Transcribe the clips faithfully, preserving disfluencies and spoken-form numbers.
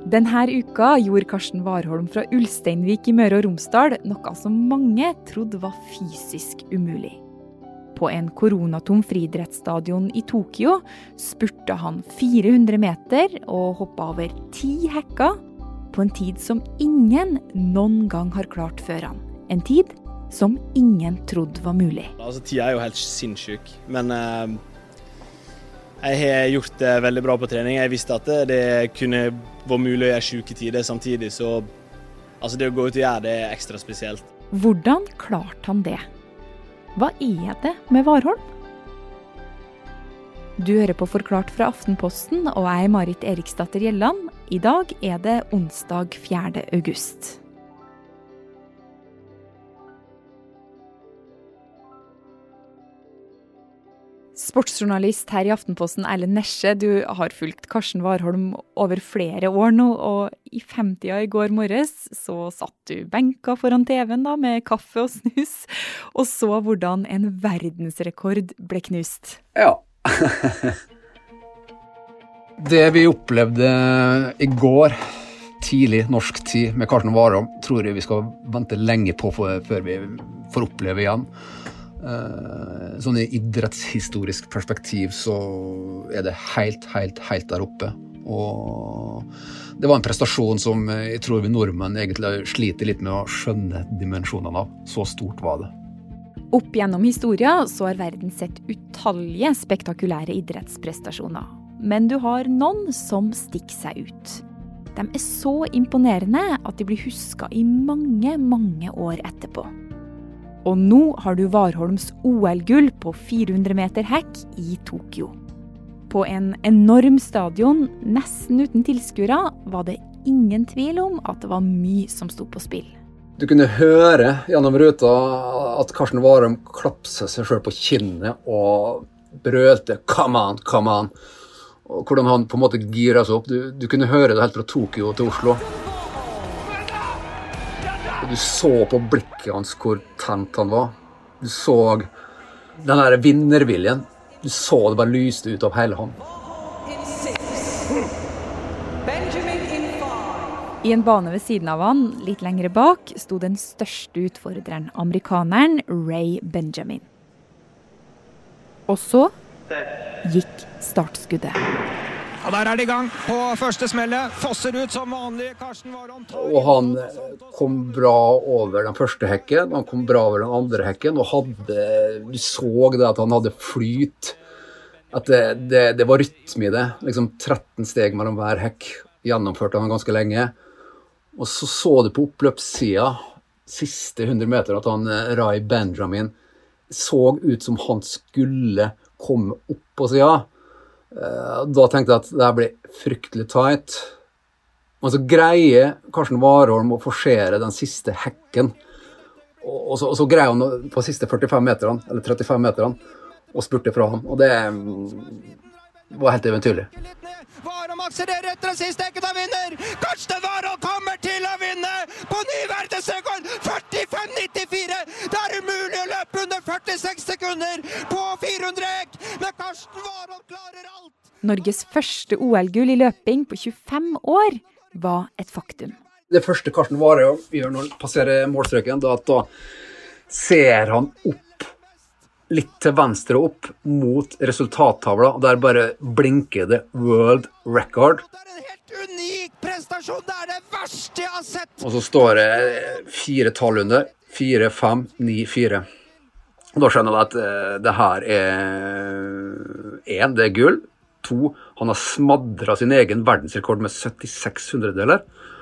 Denne uka gjorde Karsten Warholm fra Ulsteinvik i Møre og Romsdal noe som mange trodde var fysisk umulig. På en koronatom friidrettsstadion i Tokyo spurte han fire hundre meter og hoppet over ti hekker på en tid som ingen noen gang har klart før han. En tid som ingen trodde var mulig. Altså, tida er jo helt sinnssyk, men eh, jeg har gjort det veldig bra på trening. Jeg visste at det, det kunne være mulig å gjøre syke tider samtidig, så altså, det å gå ut og gjøre det er ekstra spesielt. Hvordan klarte han det? Hva er det med Warholm? Du hører på Forklart fra Aftenposten, og jeg er Marit Eriksdatter Gjelland. I dag er det onsdag fjerde august. Sportsjournalist her i Aftenposten, Erlend Nesje, du har fulgt Karsten Warholm over flere år nå, og i femtida i går morges så satt du benka foran T V-en da, med kaffe og snus, og så hvordan en verdensrekord ble knust. Ja. Det vi opplevde i går, tidlig norsk tid med Karsten Warholm, tror jeg vi skal vente lenge på for, før vi får oppleve igjen. Uh, sånn i idrettshistorisk perspektiv så er det helt, helt, helt der oppe. Og det var en prestasjon som jeg tror vi nordmenn egentlig sliter litt med å skjønne dimensjonene av. Så stort var det. Opp gjennom historia så har verden sett utallige spektakulære idrettsprestasjoner. Men du har noen som stikker seg ut. De er så imponerende at de blir husket i mange, mange år etterpå. Og nå har du Warholms O L-gull på fire hundre meter hekk i Tokyo. På en enorm stadion, nesten uten tilskuere, var det ingen tvil om at det var mye som sto på spill. Du kunne høre gjennom ruta at Karsten Warholm klapset seg selv på kinnet og brølte «Come on, come on!» Og hvordan han på en måte giret seg opp. Du, du kunne høre det helt fra Tokyo til Oslo. Du så på blikket hans hvor tent han var. Du så den der vinnerviljen. Du så det bare lyste ut av hele han. I en bane ved siden av han, litt lengre bak, sto den største utfordreren, amerikaneren Ray Benjamin. Og så gikk startskuddet. Og der er det i gang på første smellet. Fosser ut som vanlig. Karsten Warholm. Og han kom bra over den første hekken, han kom bra over den andre hekken, og hadde, du så det at han hadde flyt, at det, det, det var rytme i det, liksom tretten steg mellom hver hekk, gjennomførte han ganske lenge. Og så så du på oppløpssiden, siste hundre meter, at han, Ray Benjamin, så ut som han skulle komme opp på siden. Da tenkte jeg at det her ble fryktelig tight. Og så greier Karsten Warholm å forsere den siste hekken. Og så, og så greier han på siste førtifem meterne, eller trettifem meterne, og spurte fra ham. Og det var helt eventyrlig. Warholm akselererer etter den siste hekken og vinner! Karsten Warholm kommer til å vinne på ny verdensrekord! førtifem nittifire! Det er umulig å løpe under førtiseks sekunder på fire hundre hekk, men Karsten Warholm klarer alt! Norges første O L-gull i løping på tjuefem år var et faktum. Det første Karsten Warholm gjør når han passerer målstreken, da, da ser han opp litt til venstre opp mot resultattavla, og der bare blinker det World Record. Det er en helt unik prestasjon, det er det verste jeg har sett! Og så står det fire tall under, fire, fem, ni, fire. Og da skjønner jeg at uh, det her er en, det er gull. To, han har smadret sin egen verdensrekord med syttiseks hundredeler.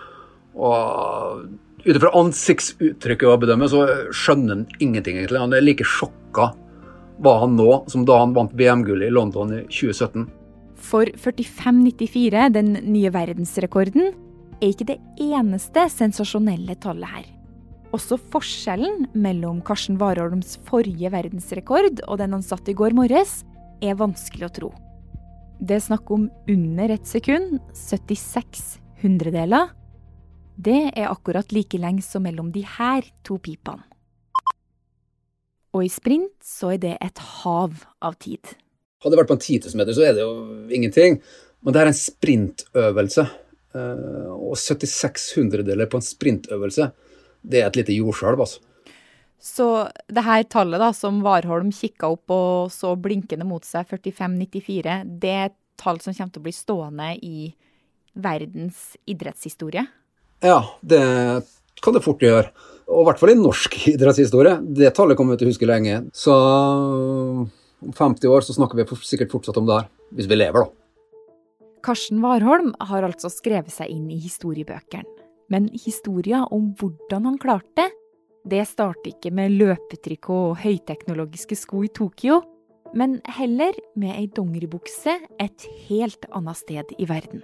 Og utenfor ansiktsuttrykket å bedømme, så skjønner han ingenting egentlig. Han er like sjokket var han nå, som da han vant V M-gullet i London i tjue sytten. For førtifem nittifire, den nye verdensrekorden, er ikke det eneste sensasjonelle tallet her. Også forskjellen mellom Karsten Warholms forrige verdensrekord og den han satt i går morges, er vanskelig å tro. Det er snakk om under et sekund, syttiseks hundredeler. Det er akkurat like lenge som mellom de her to pipene. Og i sprint så er det et hav av tid. Hadde det vært på en ti tusen meter så er det jo ingenting. Men det er en sprintøvelse. Og syttiseks hundredeler på en sprintøvelse, det er et lite jordskjelv, altså. Så det her tallet da, som Warholm kikket opp og så blinkende mot seg, førtifem nittifire, det er et tall som kommer til å bli stående i verdens idrettshistorie? Ja, det kan det fort gjøre. Og i hvert fall i norsk idrettshistorie. Det tallet kommer vi til å huske lenge. Så om femti år så snakker vi sikkert fortsatt om det her, hvis vi lever da. Karsten Warholm har altså skrevet seg inn i historiebøkene. Men historien om hvordan han klarte det, det starter ikke med løpetrikk og høyteknologiske sko i Tokyo, men heller med ei dongeribukse et helt annet sted i verden.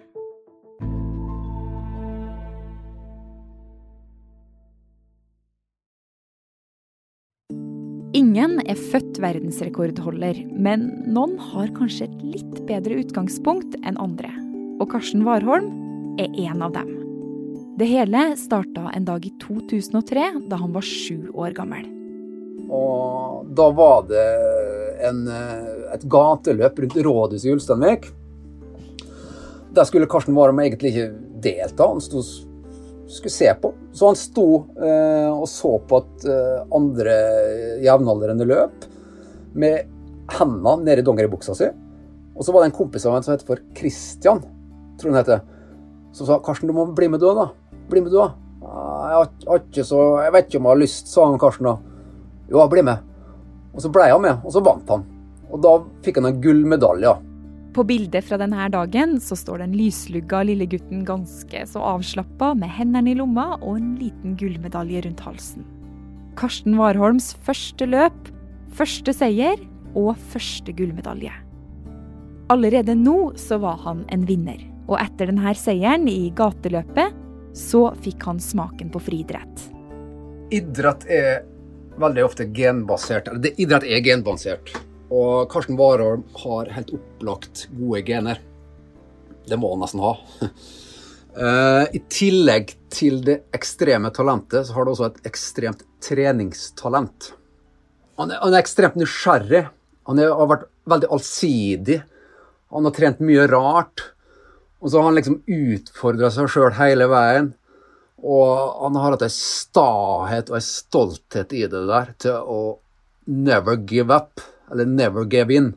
Ingen er født verdensrekordholder, men noen har kanskje et litt bedre utgangspunkt enn andre. Og Karsten Warholm er en av dem. Det hele startet en dag i to tusen og tre, da han var sju år gammel. Og da var det en, et gateløp rundt rådhuset i Ulsteinvik. Der skulle Karsten Warholm egentlig ikke delta, han stod, skulle se på. Så han sto eh, og så på at eh, andre jevnaldrende løp med hendene nede i dongeribuksa si. Og så var det en kompis av han som heter for Christian, tror han heter, som sa, Karsten, du må bli med du da. Bli med du da. Jeg, har, har ikke så, jeg vet ikke om jeg har lyst, sa han Karsten da. Jo, bli med. Og så ble han med, og så vant han. Og da fikk han en gullmedalje. På bildet fra denne dagen så står den lyslugga lille gutten ganske så avslappet med hendene i lomma og en liten gullmedalje rundt halsen. Karsten Warholms første løp, første seier og første gullmedalje. Allerede nå så var han en vinner. Og etter denne seieren i gateløpet, så fikk han smaken på friidrett. Idrett er veldig ofte genbasert, eller det, idrett er genbasert. Og Karsten Warholm har helt opplagt gode gener. Det må han nesten ha. uh, I tillegg til det ekstreme talentet, så har han også et ekstremt treningstalent. Han er, han er ekstremt nysgjerrig. Han er, har vært veldig allsidig. Han har trent mye rart. Og så har han liksom utfordret seg selv hele veien. Og han har hatt en stahet og en stolthet i det der til å never give up, eller never give in.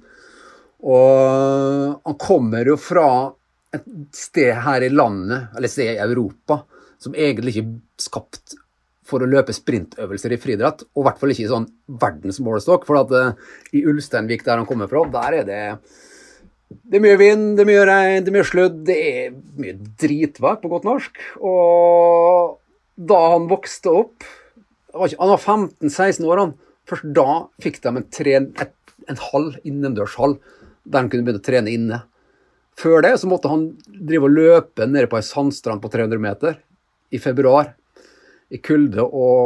Og han kommer jo fra et sted her i landet, eller et sted i Europa, som egentlig ikke er skapt for å løpe sprintøvelser i friidrett, og i hvert fall ikke i sånn verdensmålestokk, for at uh, i Ulsteinvik der han kommer fra, der er det Det er mye vind, det er mye regn, det er mye sludd, det er mye dritvær på godt norsk. Og da han vokste opp, han var femten seksten år, han, først da fikk de en, tren, et, en hall, innendørshall, der han kunne begynne å trene inne. Før det så måtte han drive og løpe nede på en sandstrand på tre hundre meter i februar, i kulde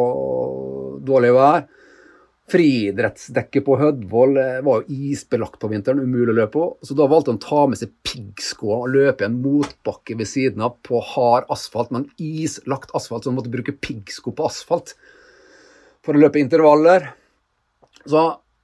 og dårlig vær. Friidrettsdekket på Hødvoll var jo isbelagt på vinteren, umulig å løpe på. Så da valgte han å ta med seg piggsko og løpe en motbakke ved siden av på hard asfalt, men islagt asfalt, så han måtte bruke piggsko på asfalt for å løpe intervaller. Så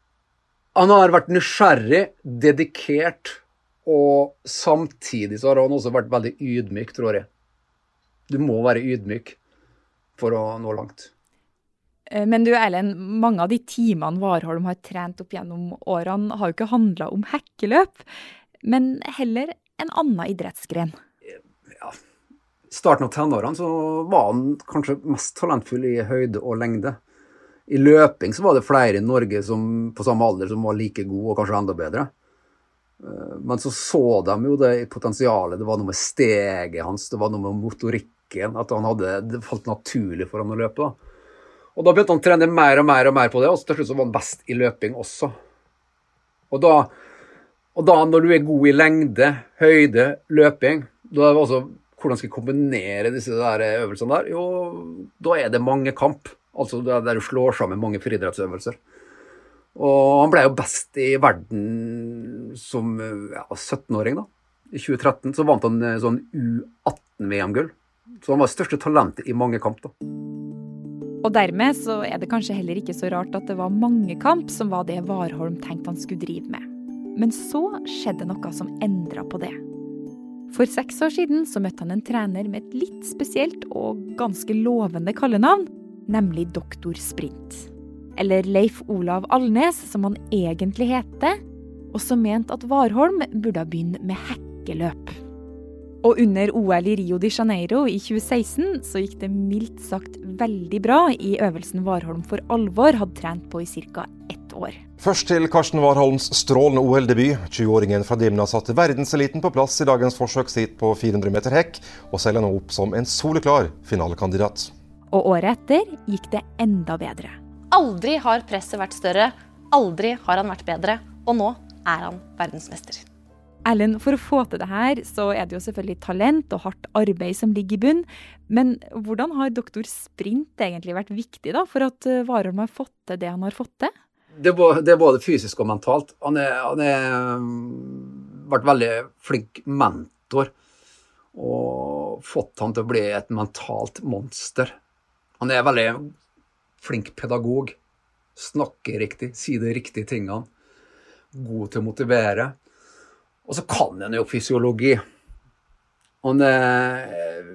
han har vært nysgjerrig, dedikert, og samtidig så har han også vært veldig ydmyk, tror jeg. Du må være ydmyk for å nå langt. Men du Erlend, mange av de timene Warholm har trent opp gjennom årene har jo ikke handlet om hekkeløp, men heller en annen idrettsgren. Ja, i starten av tenårene så var han kanskje mest talentfull i høyde og lengde. I løping så var det flere i Norge som, på samme alder som var like gode og kanskje enda bedre. Men så så de jo det i potensialet, det var noe med steget hans, det var noe med motorikken, at han hadde, det falt naturlig for han å løpe da. Og da begynte han å trene mer og mer og mer på det, og til slutt så var han best i løping også. Og da, og da når du er god i lengde, høyde, løping, da er det også hvordan skal jeg kombinere disse der øvelsene der? Jo, da er det mange kamp, altså der du slår sammen mange friidrettsøvelser. Og han ble jo best i verden som ja, sytten-åring da. I tjue tretten så vant han sånn U atten V M-gull. Så han var største talentet i mange kamp da. Og dermed så er det kanskje heller ikke så rart at det var mange kamp som var det Warholm tenkte han skulle drive med. Men så skjedde noe som endret på det. For seks år siden så møtte han en trener med et litt spesielt og ganske lovende kallenavn, nemlig Doktor Sprint. Eller Leif Olav Alnes, som han egentlig heter, og som mente at Warholm burde begynne med hekkeløp. Og under O L i Rio de Janeiro i tjue seksten så gikk det mildt sagt veldig bra i øvelsen Warholm for alvor hadde trent på i cirka ett år. Først til Karsten Warholms strålende O L-debut. tjue-åringen fra Dimna satte verdenseliten på plass i dagens forsøksheat på fire hundre meter hekk, og selger nå opp som en soleklar finalekandidat. Og året etter gikk det enda bedre. Aldri har presset vært større, aldri har han vært bedre, og nå er han verdensmester. Ellen, for å få til det her, så er det jo selvfølgelig talent og hardt arbeid som ligger i bunn. Men hvordan har Doktor Sprint egentlig vært viktig da, for at Warholm har fått til det han har fått til? Det var, det var både fysisk og mentalt. Han har vært veldig flink mentor og fått han til å bli et mentalt monster. Han er veldig flink pedagog, snakker riktig, sier de riktige tingene, god til å motivere. Og så kan han jo fysiologi. Han er,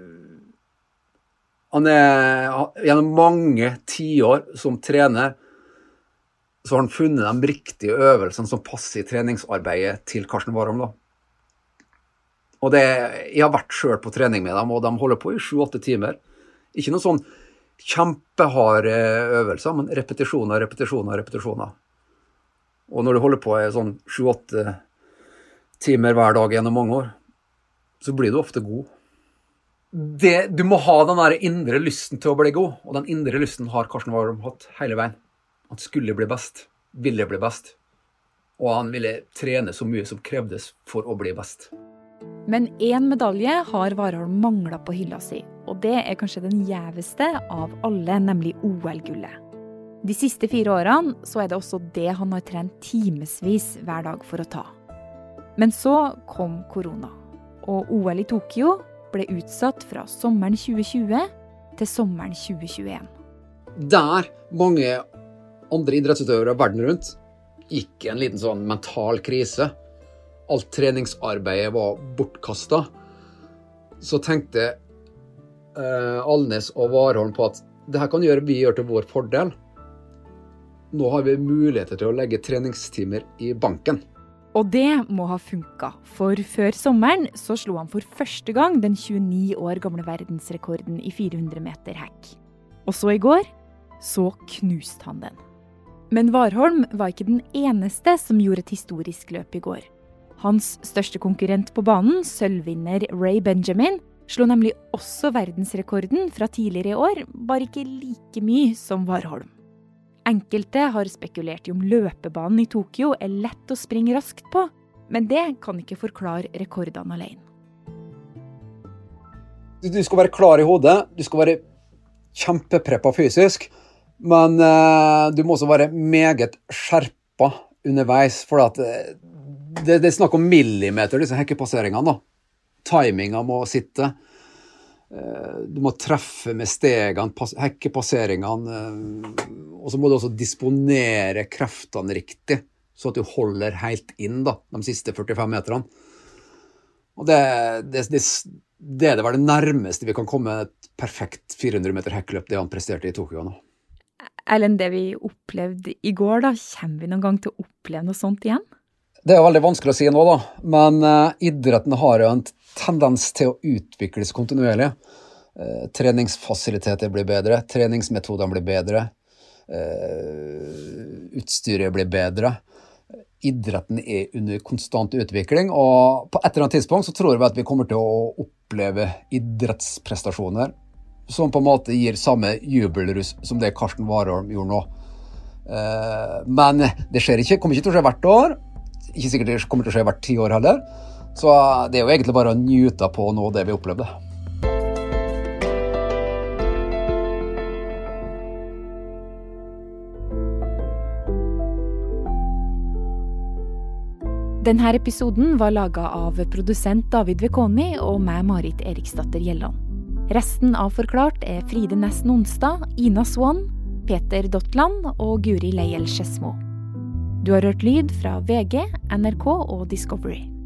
han er gjennom mange tiår som trener, så har han funnet de riktige øvelsene som passer i treningsarbeidet til Karsten Warholm da. Og det, jeg har vært selv på trening med dem, og de holder på i sju åtte timer. Ikke noen sånn kjempeharde øvelser, men repetisjoner, repetisjoner, repetisjoner. Og når du holder på i sånn sju åtte timer hver dag gjennom mange år, så blir du ofte god. Det, du må ha den der indre lysten til å bli god, og den indre lysten har Karsten Warholm hatt hele veien. Han skulle bli best, ville bli best, og han ville trene så mye som krevdes for å bli best. Men en medalje har Warholm manglet på hylla si, og det er kanskje den gjeveste av alle, nemlig O L-gullet. De siste fire årene så er det også det han har trent timesvis hver dag for å ta. Men så kom korona, og O L i Tokyo ble utsatt fra sommeren tjue tjue til sommeren tjue tjueen. Der mange andre idrettsutøvere verden rundt gikk en liten sånn mental krise. Alt treningsarbeidet var bortkastet. Så tenkte eh, Alnes og Warholm på at det her kan gjøre, vi gjør til vår fordel. Nå har vi muligheter til å legge treningstimer i banken. Og det må ha funket, for før sommeren så slo han for første gang den tjueni år gamle verdensrekorden i fire hundre meter hekk. Og så i går, så knuste han den. Men Warholm var ikke den eneste som gjorde et historisk løp i går. Hans største konkurrent på banen, sølvvinner Ray Benjamin, slo nemlig også verdensrekorden fra tidligere i år, bare ikke like mye som Warholm. Enkelte har spekulert i om løpebanen i Tokyo er lett å springe raskt på, men det kan ikke forklare rekordene alene. Du skal være klar i hodet, du skal være kjempepreppa fysisk, men uh, du må også være meget skjerpa underveis, for at uh, det, det er snakk om millimeter, disse hekkepasseringene da. Timingen må sitte. Du må treffe med stegene, hekkepasseringene, og så må du også disponere kreftene riktig, så at du holder helt inn da, de siste førtifem meterne. Og det, det, det, det er det vel det nærmeste vi kan komme et perfekt fire hundre meter hekkeløp, det han presterte i Tokyo nå. Ellen, det vi opplevde i går da, kommer vi noen gang til å oppleve noe sånt igjen? Det er veldig vanskelig å si nå da, men uh, idretten har jo en tendens til å utvikles kontinuerlig. Uh, treningsfasiliteter blir bedre, treningsmetodene blir bedre, uh, utstyret blir bedre. Idretten er under konstant utvikling, og på et eller annet tidspunkt så tror vi at vi kommer til å oppleve idrettsprestasjoner som på en måte gir samme jubelrus som det Karsten Warholm gjorde nå. Uh, men det skjer ikke, kommer ikke til å skje hvert år, ikke sikkert det kommer til å skje hvert ti år heller. Så det er jo egentlig bare å njute på nå det vi opplevde. Denne episoden var laget av produsent David Vekoni og meg, Marit Eriksdatter Gjelland. Resten av Forklart er Fride Næss Nonstad, Ina Swan, Peter Dottland og Guri Leiel Skedsmo. Du har hørt lyd fra V G, N R K og Discovery.